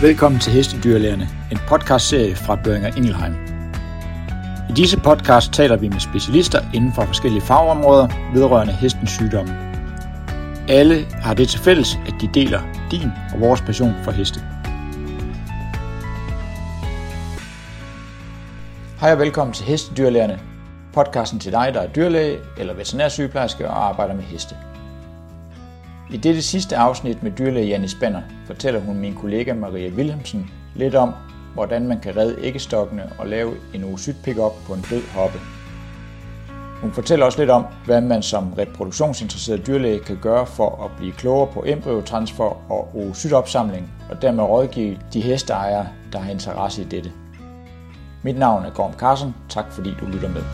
Velkommen til Hestedyrlægerne, en podcastserie fra Boehringer Ingelheim. I disse podcast taler vi med specialister inden for forskellige fagområder vedrørende hestens sygdomme. Alle har det til fælles, at de deler din og vores passion for heste. Hej og velkommen til Hestedyrlægerne, podcasten til dig, der er dyrlæge eller veterinærsygeplejerske og arbejder med heste. I dette sidste afsnit med dyrlæge Janni Spanner fortæller hun min kollega Maria Wilhelmsen lidt om, hvordan man kan redde æggestokkene og lave en oocyt pickup på en død hoppe. Hun fortæller også lidt om, hvad man som reproduktionsinteresseret dyrlæge kan gøre for at blive klogere på embryotransfer og oocytopsamling og dermed rådgive de hesteejere, der har interesse i dette. Mit navn er Gorm Carson. Tak fordi du lytter med.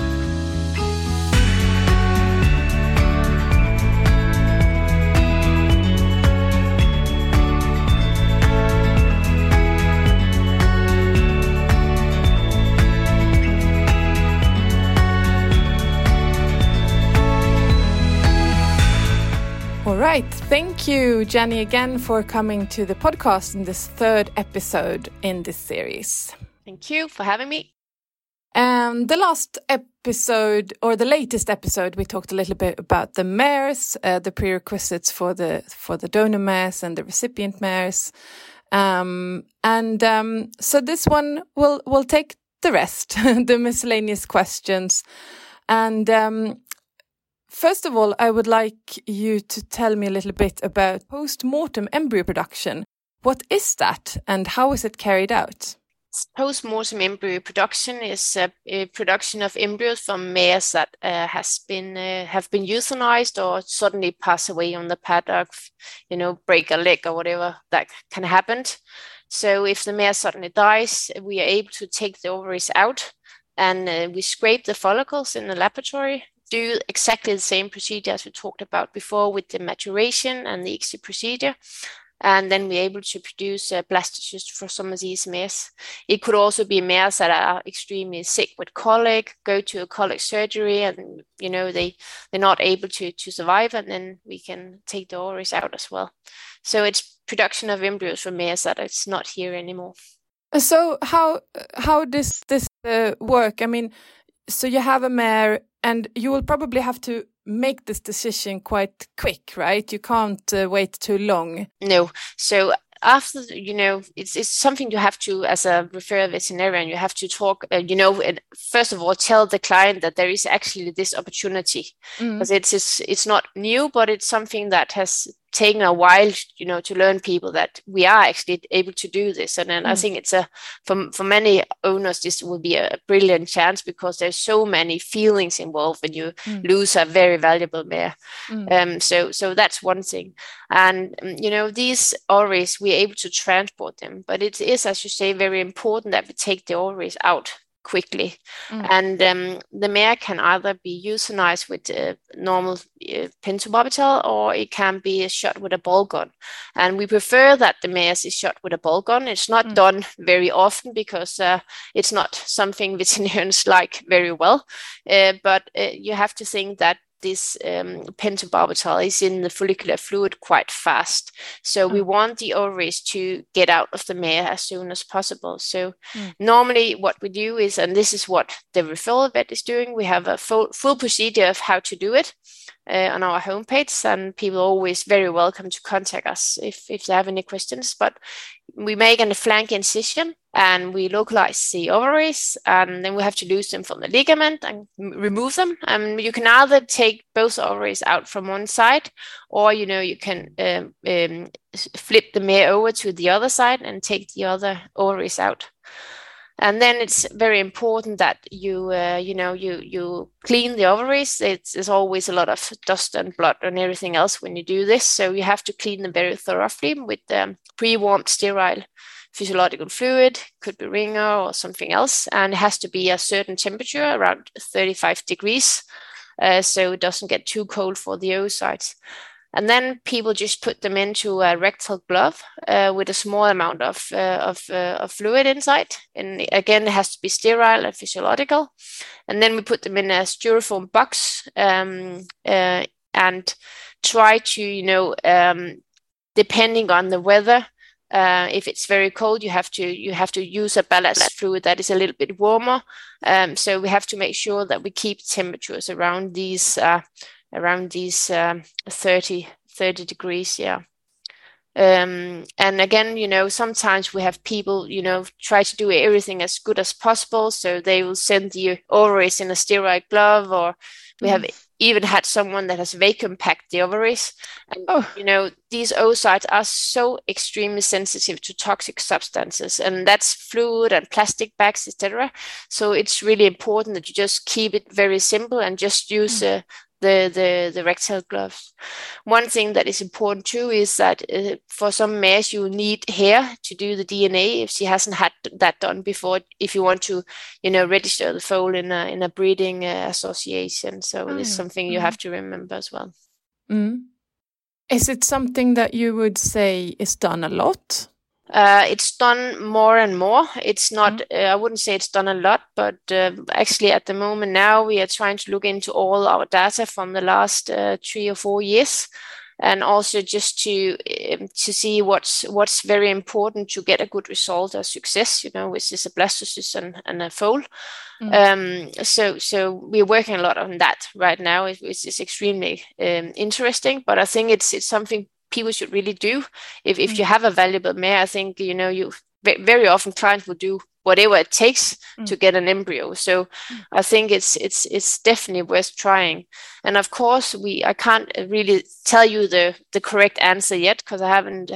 All right. Thank you, Janni, again for coming to the podcast in this third episode in this series. Thank you for having me. The last episode, or the latest episode, we talked a little bit about the mares, the prerequisites for the donor mares and the recipient mares, so this one will take the rest, the miscellaneous questions, and. First of all, I would like you to tell me a little bit about post-mortem embryo production. What is that and how is it carried out? Post-mortem embryo production is a production of embryos from mares that have been euthanized or suddenly pass away on the paddock, break a leg or whatever that can happen. So if the mare suddenly dies, we are able to take the ovaries out and we scrape the follicles in the laboratory. Do exactly the same procedure as we talked about before with the maturation and the ICSI procedure. And then we're able to produce blastocysts for some of these mares. It could also be mares that are extremely sick with colic, go to a colic surgery and, they're not able to survive, and then we can take the ovaries out as well. So it's production of embryos from mares that it's not here anymore. So how does this work? I mean, so you have a mare and you will probably have to make this decision quite quick, right? You can't wait too long. No. So after, it's something you have to, as a referral veterinarian, you have to talk, and first of all, tell the client that there is actually this opportunity. Because it's not new, but it's something that has taken a while, to learn people that we are actually able to do this. And then I think it's for many owners, this will be a brilliant chance because there's so many feelings involved when you lose a very valuable mare. So that's one thing. And, these ovaries, we're able to transport them, but it is, as you say, very important that we take the ovaries out quickly. And the mare can either be euthanized with normal pentobarbital, or it can be shot with a ball gun. And we prefer that the mare is shot with a ball gun. It's not done very often because it's not something veterinarians like very well. But you have to think that this pentobarbital is in the follicular fluid quite fast. So we want the ovaries to get out of the mare as soon as possible. So normally what we do is, and this is what the referral vet is doing, we have a full procedure of how to do it on our homepage, and people are always very welcome to contact us if they have any questions. But we make a flank incision and we localize the ovaries, and then we have to loose them from the ligament and remove them. And you can either take both ovaries out from one side, or you can flip the mare over to the other side and take the other ovaries out. And then it's very important that you clean the ovaries. There's always a lot of dust and blood and everything else when you do this. So you have to clean them very thoroughly with pre-warmed sterile physiological fluid, could be ringer or something else. And it has to be a certain temperature, around 35 degrees, so it doesn't get too cold for the oocytes. And then people just put them into a rectal glove with a small amount of fluid inside. And again, it has to be sterile and physiological. And then we put them in a styrofoam box and try to, depending on the weather, If it's very cold, you have to use a ballast fluid that is a little bit warmer. So we have to make sure that we keep temperatures around these 30 degrees. Yeah. And again, sometimes we have people, try to do everything as good as possible. So they will send the ovaries in a sterile glove, or we have even had someone that has vacuum packed the ovaries. And, these oocytes are so extremely sensitive to toxic substances, and that's fluid and plastic bags, etc. So it's really important that you just keep it very simple and just use the rectal gloves. One thing that is important too is that for some mares you need hair to do the DNA if she hasn't had that done before, if you want to register the foal in a breeding association. So it's something you have to remember as well. Is it something that you would say is done a lot? It's done more and more. It's not, I wouldn't say it's done a lot, but actually at the moment now we are trying to look into all our data from the last 3 or 4 years, and also just to see what's very important to get a good result or success, which is a blastocyst and a foal. So we're working a lot on that right now, which is extremely interesting. But I think it's something people should really do. If you have a valuable mare, I think you very often clients will do whatever it takes to get an embryo. So I think it's definitely worth trying. And of course, I can't really tell you the correct answer yet, because I haven't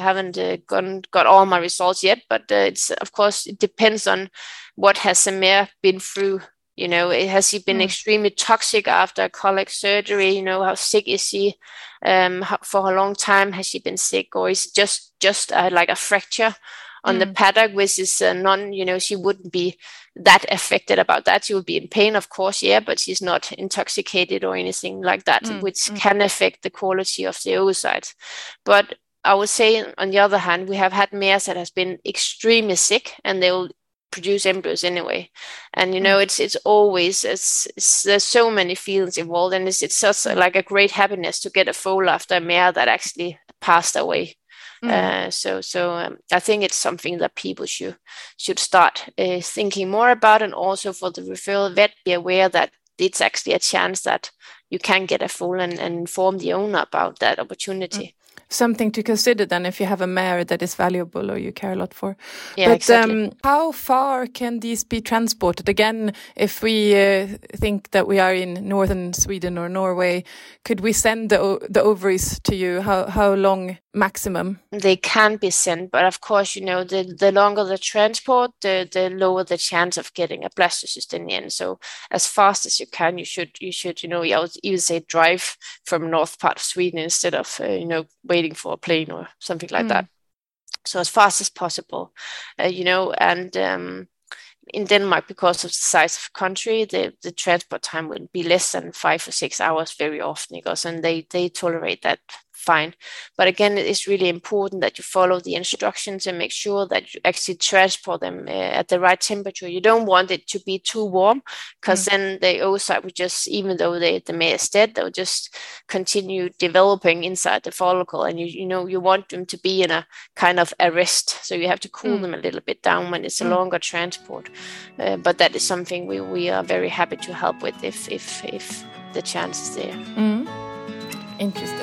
got all my results yet. But it depends on what has the mare been through. Has she been extremely toxic after a colic surgery? How sick is she? For a long time has she been sick, or is it just like a fracture on the paddock, which is she wouldn't be that affected about that. She would be in pain, of course, but she's not intoxicated or anything like that, which can affect the quality of the oocytes. But I would say, on the other hand, we have had mares that has been extremely sick, and they will produce embryos anyway. And it's always there's so many feelings involved, and it's such like a great happiness to get a foal after a mare that actually passed away. So I think it's something that people should start thinking more about, and also for the referral vet, be aware that it's actually a chance that you can get a foal, and inform the owner about that opportunity. Something to consider then if you have a mare that is valuable or you care a lot for. Yeah, but exactly. How far can these be transported? Again, if we think that we are in northern Sweden or Norway, could we send the ovaries to you? How long maximum? They can be sent, but of course, the longer the transport, the lower the chance of getting a blastocyst in the end. So as fast as you can, you should, I would even say drive from north part of Sweden instead of, waiting for a plane or something like that. So as fast as possible, and in Denmark, because of the size of the country, the transport time will be less than 5 or 6 hours very often, and they tolerate that fine. But again, it's really important that you follow the instructions and make sure that you actually transport them at the right temperature. You don't want it to be too warm, because then the oocyte will just, even though the mare is dead, they'll just continue developing inside the follicle, and you want them to be in a kind of arrest. So you have to cool them a little bit down when it's a longer transport. But that is something we are very happy to help with if the chance is there. Interesting.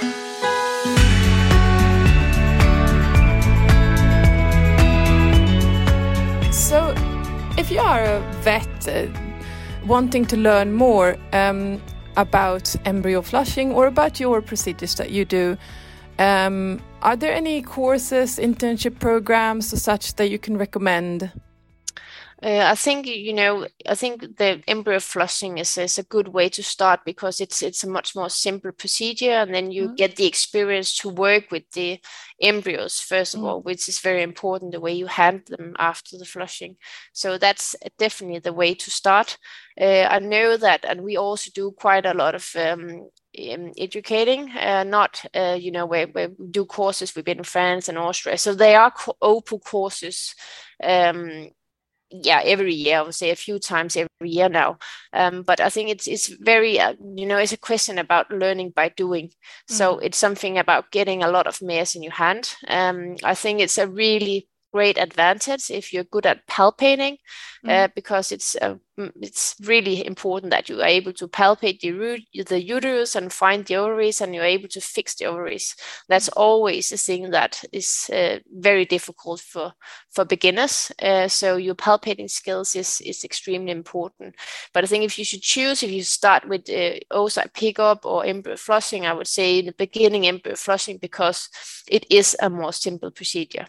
So, if you are a vet wanting to learn more about embryo flushing or about your procedures that you do, are there any courses, internship programs or such that you can recommend? I think the embryo flushing is a good way to start, because it's a much more simple procedure, and then you get the experience to work with the embryos first of all, which is very important, the way you handle them after the flushing. So that's definitely the way to start. I know that, and we also do quite a lot of educating, where we do courses. We've been in France and Austria, so they are open courses every year. I would say a few times every year now. But I think it's very, it's a question about learning by doing. So it's something about getting a lot of mares in your hand. I think it's a really great advantage if you're good at palpating, because it's really important that you are able to palpate the uterus and find the ovaries, and you're able to fix the ovaries. That's always a thing that is very difficult for beginners. So your palpating skills is extremely important. But I think if you start with oocyte pickup or embryo flushing, I would say in the beginning embryo flushing, because it is a more simple procedure.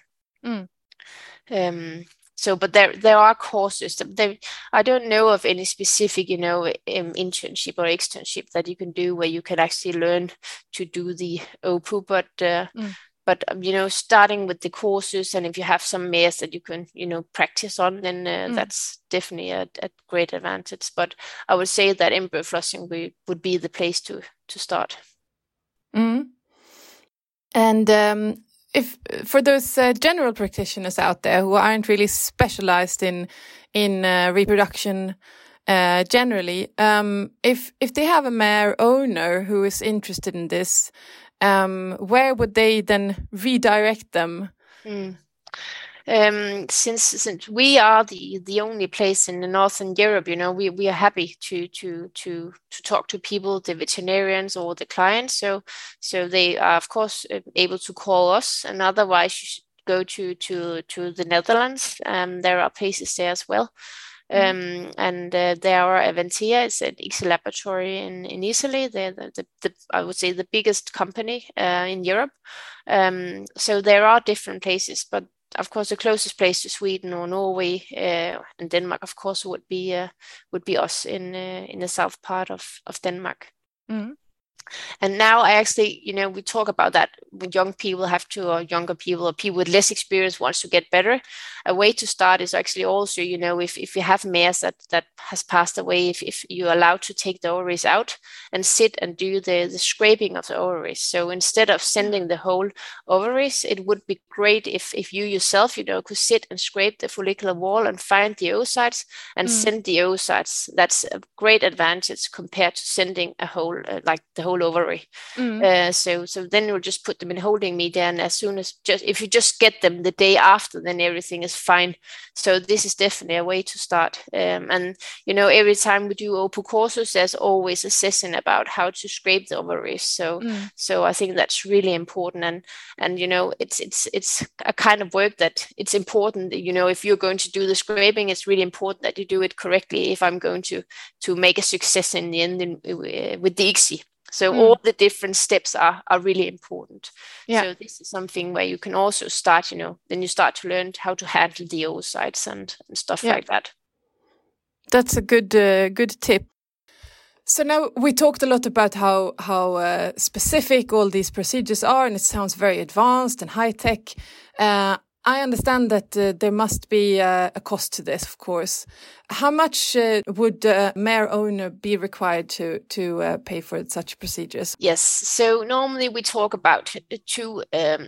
But there are courses. I don't know of any specific, internship or externship that you can do where you can actually learn to do the OPU. But starting with the courses, and if you have some mares that you can, practice on, then that's definitely a great advantage. But I would say that embryo flushing would be the place to start. And if for those general practitioners out there who aren't really specialized in reproduction generally, if they have a mare owner who is interested in this, where would they then redirect them? Since we are the only place in the Northern Europe, we are happy to talk to people, the veterinarians or the clients. So they are of course able to call us, and otherwise you should go to the Netherlands. There are places there as well. And there are Aventia, it's an ICSI laboratory in Italy. They're the I would say the biggest company in Europe. So there are different places, but of course the closest place to Sweden or Norway and Denmark, of course, would be us in the south part of Denmark. And now I actually, we talk about that when young people have to, or younger people or people with less experience wants to get better. A way to start is actually also, if you have mares that has passed away, if you're allowed to take the ovaries out and sit and do the scraping of the ovaries. So instead of sending the whole ovaries, it would be great if you yourself, could sit and scrape the follicular wall and find the oocytes and send the oocytes. That's a great advantage compared to sending a whole, like the whole ovary. So then you'll just put them in holding media, and as soon as if you just get them the day after, then everything is fine. So this is definitely a way to start. And every time we do OPU courses, there's always a session about how to scrape the ovaries. So I think that's really important, and it's a kind of work that it's important. If you're going to do the scraping, it's really important that you do it correctly. If I'm going to make a success in the end with the ICSI. So all the different steps are really important. Yeah. So this is something where you can also start, then you start to learn how to handle the oocytes and stuff like that. That's a good tip. So now we talked a lot about how specific all these procedures are, and it sounds very advanced and high tech. I understand that there must be a cost to this, of course. How much would a mare owner be required to pay for such procedures? Yes, so normally we talk about two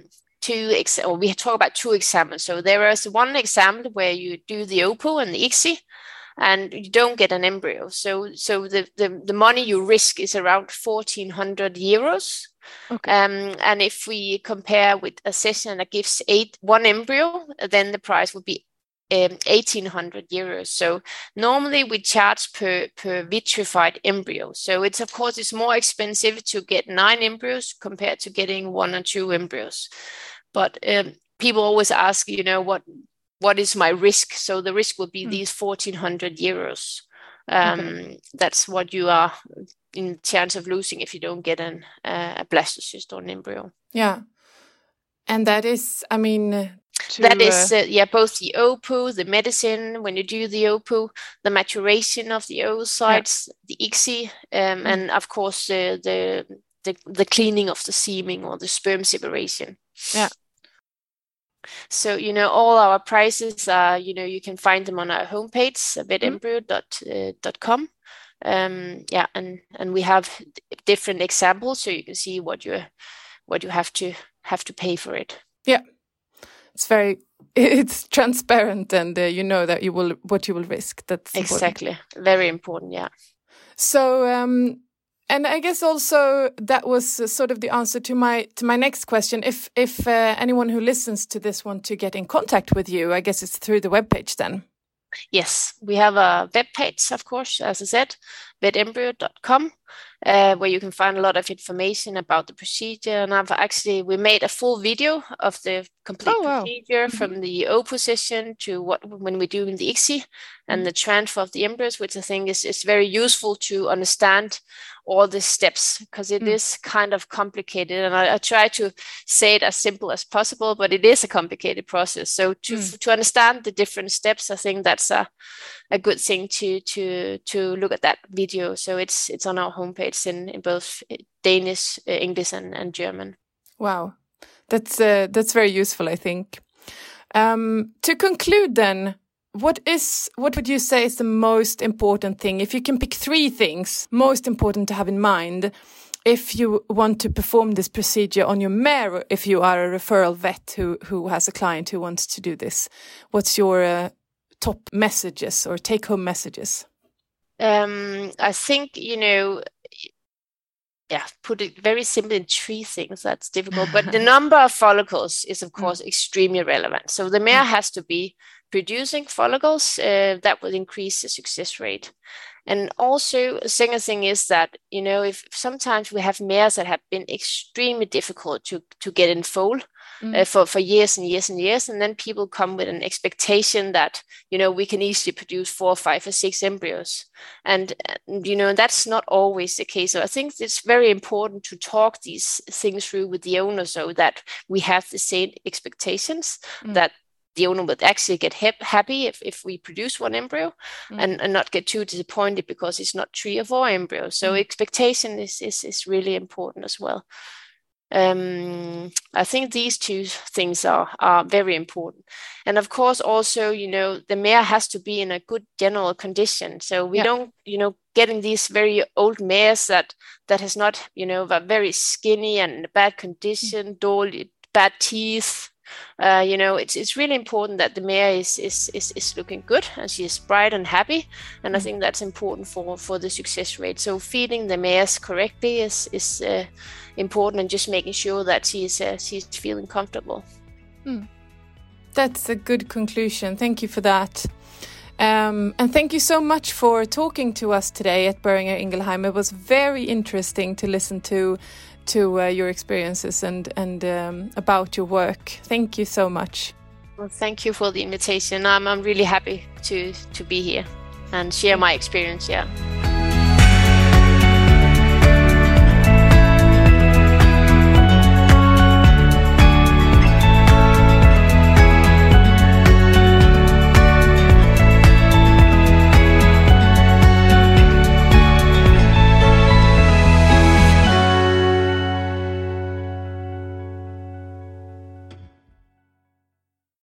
examples. So there is one example where you do the OPU and the ICSI, and you don't get an embryo. So the money you risk is around 1,400 euros. Okay. And if we compare with a session that gives one embryo, then the price would be 1,800 euros. So normally we charge per vitrified embryo. So it's more expensive to get 9 embryos compared to getting 1 or 2 embryos. But people always ask, what is my risk? So the risk would be these 1,400 euros. That's what you are in chance of losing if you don't get a blastocyst or an embryo. Yeah. And that is, both the OPU, the medicine, when you do the OPU, the maturation of the oocytes, the ICSI, and of course the cleaning of the seaming or the sperm separation. Yeah. So, all our prices are, you can find them on our homepage, vetembryo.com. And we have different examples, so you can see what you have to pay for it. Yeah, it's very it's transparent, and you know that what you will risk. That's exactly important. Very important. Yeah. So, and I guess also that was sort of the answer to my next question. If anyone who listens to this want to get in contact with you, I guess it's through the webpage then. Yes, we have a web page, of course, as I said, vetembryo.com, where you can find a lot of information about the procedure. And we made a full video of the complete procedure from the O position to when we're doing the ICSI and the transfer of the embryos, which I think is very useful to understand all the steps, because it is kind of complicated. And I try to say it as simple as possible, but it is a complicated process. So to understand the different steps, I think that's a good thing to look at that video. So it's on our homepage in both Danish, English, and German. Wow, that's very useful, I think. To conclude, then, what would you say is the most important thing, if you can pick 3 things most important to have in mind if you want to perform this procedure on your mare, or if you are a referral vet who has a client who wants to do this? What's your top messages or take-home messages? I think, put it very simply in 3 things. That's difficult, but the number of follicles is, of course, extremely relevant. So the mare has to be producing follicles. That will increase the success rate. And also, a second thing is that, if sometimes we have mares that have been extremely difficult to get in foal for years and years and years, and then people come with an expectation that, we can easily produce 4, 5, or 6 embryos. And, that's not always the case. So I think it's very important to talk these things through with the owner so that we have the same expectations, that the owner would actually get happy if we produce 1 embryo and not get too disappointed because it's not 3 or 4 embryos. So expectation is really important as well. I think these 2 things are very important. And of course, also, the mare has to be in a good general condition. So we don't, getting these very old mares that has not, are very skinny and in a bad condition, bad teeth. It's really important that the mare is looking good and she is bright and happy, and I think that's important for the success rate. So feeding the mares correctly is important, and just making sure that she's feeling comfortable. That's a good conclusion. Thank you for that. And thank you so much for talking to us today at Boehringer Ingelheim. It was very interesting to listen to your experiences and about your work. Thank you so much. Well, thank you for the invitation. I'm really happy to be here and share my experience. Yeah.